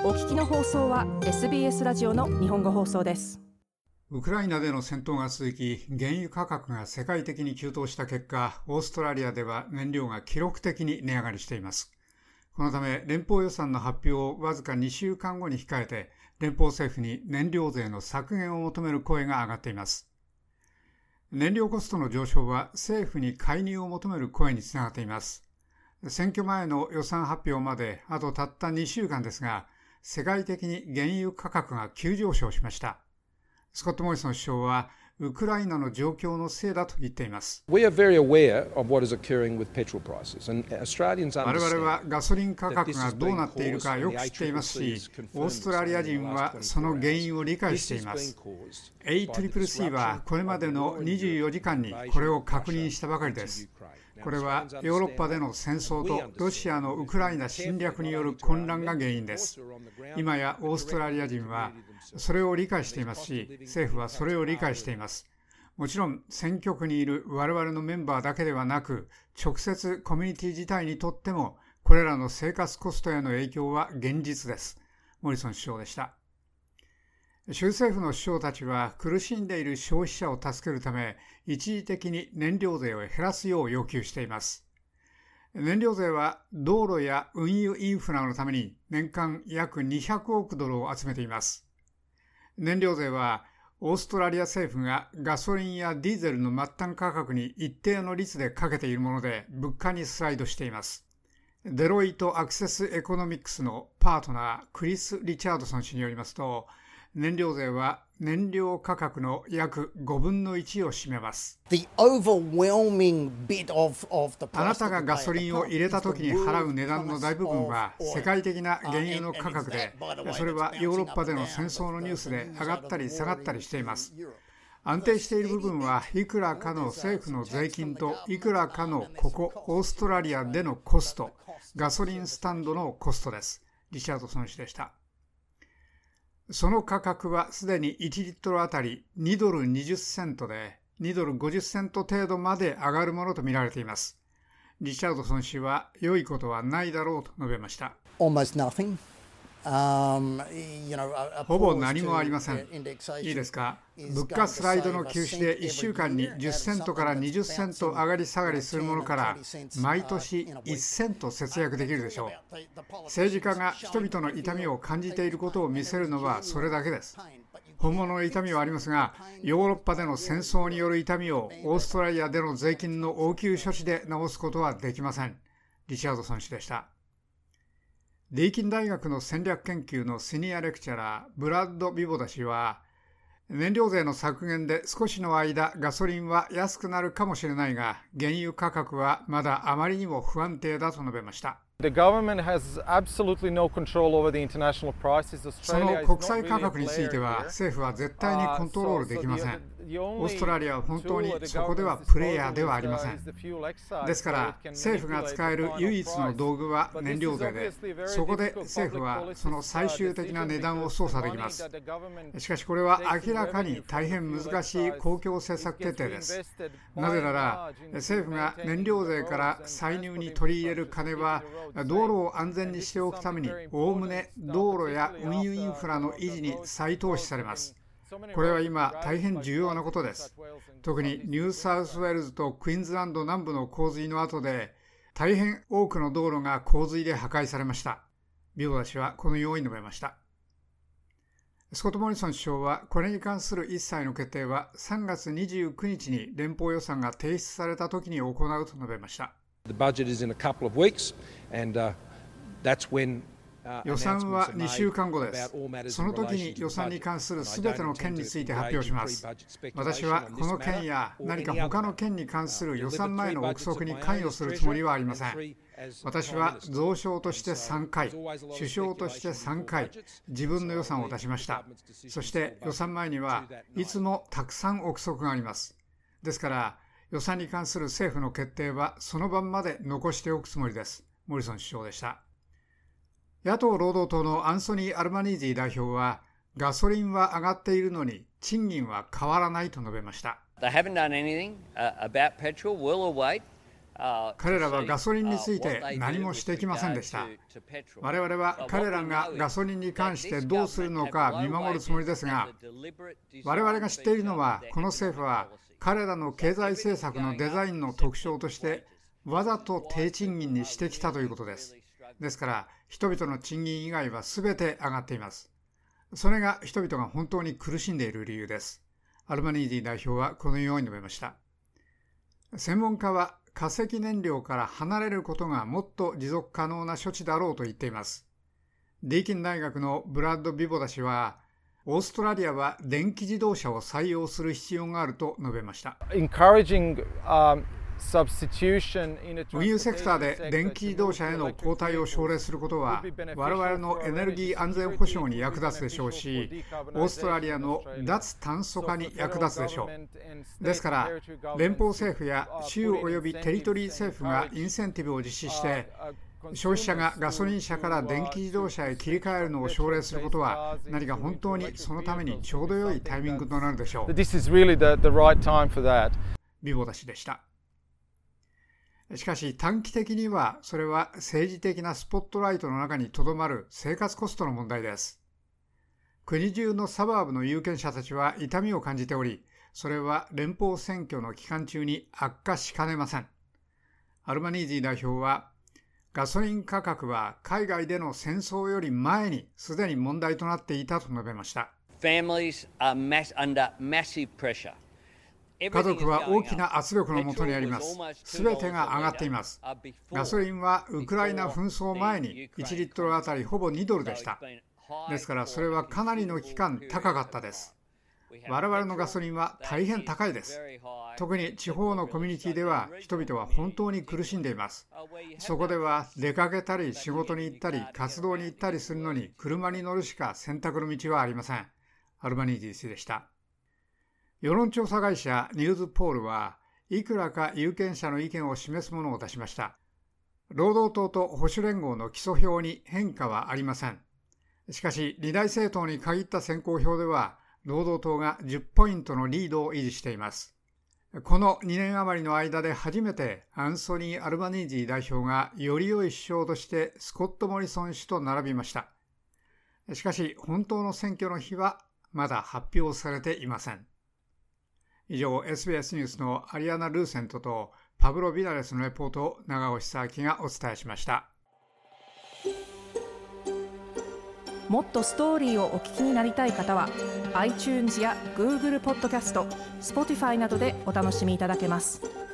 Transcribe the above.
お聞きの放送は SBS ラジオの日本語放送です。 ウクライナでの戦闘が続き、原油価格が世界的に急騰した結果、オーストラリアでは燃料が記録的に値上がりしています。このため、連邦予算の発表をわずか2週間後に控えて、連邦政府に燃料税の削減を求める声が上がっています。燃料コストの上昇は政府に介入を求める声につながっています。選挙前の予算発表まであとたった2週間ですが、世界的に原油価格が急上昇しました。スコット・モリソン首相はウクライナの状況のせいだと言っています。我々はガソリン価格がどうなっているかよく知っていますし、オーストラリア人はその原因を理解しています。ACCC はこれまでの24時間にこれを確認したばかりです。これはヨーロッパでの戦争とロシアのウクライナ侵略による混乱が原因です。今やオーストラリア人はそれを理解していますし、政府はそれを理解しています。もちろん選挙区にいる我々のメンバーだけではなく、直接コミュニティ自体にとってもこれらの生活コストへの影響は現実です。モリソン首相でした。州政府の首相たちは苦しんでいる消費者を助けるため、一時的に燃料税を減らすよう要求しています。燃料税は道路や運輸インフラのために年間約200億ドルを集めています。燃料税はオーストラリア政府がガソリンやディーゼルの末端価格に一定の率でかけているもので、物価にスライドしています。デロイト・アクセス・エコノミクスのパートナークリス・リチャードソン氏によりますと、燃料税は燃料価格の約5分の1を占めます。あなたがガソリンを入れた時に払う値段の大部分は世界的な原油の価格で、それはヨーロッパでの戦争のニュースで上がったり下がったりしています。安定している部分はいくらかの政府の税金といくらかのここオーストラリアでのコスト、ガソリンスタンドのコストです。リチャードソン氏でした。その価格はすでに1リットルあたり2ドル20セントで2ドル50セント程度まで上がるものとみられています。リチャードソン氏は良いことはないだろうと述べました。ほぼ何もありません。いいですか。物価スライドの休止で1週間に10セントから20セント上がり下がりするものから毎年1セント節約できるでしょう。政治家が人々の痛みを感じていることを見せるのはそれだけです。本物の痛みはありますが、ヨーロッパでの戦争による痛みをオーストラリアでの税金の応急処置で治すことはできません。リチャードソン氏でした。ディーキン大学の戦略研究のシニアレクチャラーブラッド・ビボダ氏は、燃料税の削減で少しの間ガソリンは安くなるかもしれないが、原油価格はまだあまりにも不安定だと述べました。その国際価格については政府は絶対にコントロールできません。オーストラリアは本当にそこではプレイヤーではありません。ですから政府が使える唯一の道具は燃料税で、そこで政府はその最終的な値段を操作できます。しかしこれは明らかに大変難しい公共政策決定です。なぜなら政府が燃料税から歳入に取り入れる金は道路を安全にしておくためにおおむね道路や運輸インフラの維持に再投資されます。これは今大変重要なことです。特にニューサウスウェールズとクイーンズランド南部の洪水の後で大変多くの道路が洪水で破壊されました。ビボダ氏はこのように述べました。スコット・モリソン首相はこれに関する一切の決定は3月29日に連邦予算が提出された時に行うと述べました。予算は2週間後です。その時に予算に関するすべての件について発表します。私はこの件や何か他の件に関する予算前の憶測に関与するつもりはありません。私は増相として3回、首相として3回、自分の予算を出しました。そして予算前にはいつもたくさん憶測があります。ですから予算に関する政府の決定はその晩まで残しておくつもりです。モリソン首相でした。野党労働党のアンソニー・アルバニージー代表は、ガソリンは上がっているのに賃金は変わらないと述べました。 彼らはガソリンについて何もしてきませんでした。我々は彼らがガソリンに関してどうするのか見守るつもりですが、我々が知っているのは、この政府は彼らの経済政策のデザインの特徴としてわざと低賃金にしてきたということです。ですから人々の賃金以外は全て上がっています。それが人々が本当に苦しんでいる理由です。アルバニージー代表はこのように述べました。専門家は化石燃料から離れることがもっと持続可能な処置だろうと言っています。ディーキン大学のブラッド・ビボダ氏は、オーストラリアは電気自動車を採用する必要があると述べました。運輸セクターで電気自動車への交代を奨励することは、我々のエネルギー安全保障に役立つでしょうし、オーストラリアの脱炭素化に役立つでしょう。ですから、連邦政府や州及びテリトリー政府がインセンティブを実施して、消費者がガソリン車から電気自動車へ切り替えるのを奨励することは、何か本当にそのためにちょうど良いタイミングとなるでしょう。ビボダ氏でした。しかし短期的にはそれは政治的なスポットライトの中にとどまる生活コストの問題です。国中のサバーブの有権者たちは痛みを感じており、それは連邦選挙の期間中に悪化しかねません。アルバニージー代表は、ガソリン価格は海外での戦争より前にすでに問題となっていたと述べました。家族は大きな圧力のもとにあります。すべてが上がっています。ガソリンはウクライナ紛争前に1リットルあたりほぼ2ドルでした。ですからそれはかなりの期間高かったです。我々のガソリンは大変高いです。特に地方のコミュニティでは人々は本当に苦しんでいます。そこでは出かけたり仕事に行ったり活動に行ったりするのに車に乗るしか選択の道はありません。アルバニージー氏でした。世論調査会社ニューズポールはいくらか有権者の意見を示すものを出しました。労働党と保守連合の基礎票に変化はありません。しかし二大政党に限った選考票では労働党が10ポイントのリードを維持しています。この2年余りの間で初めてアンソニー・アルバニージー代表がより良い首相としてスコット・モリソン氏と並びました。しかし本当の選挙の日はまだ発表されていません。以上、SBS ニュースのアリアナ・ルーセントとパブロ・ビナレスのレポートを長尾久明がお伝えしました。 もっとストーリーをお聞きになりたい方は iTunes や Google ポッドキャスト、Spotify などでお楽しみいただけます。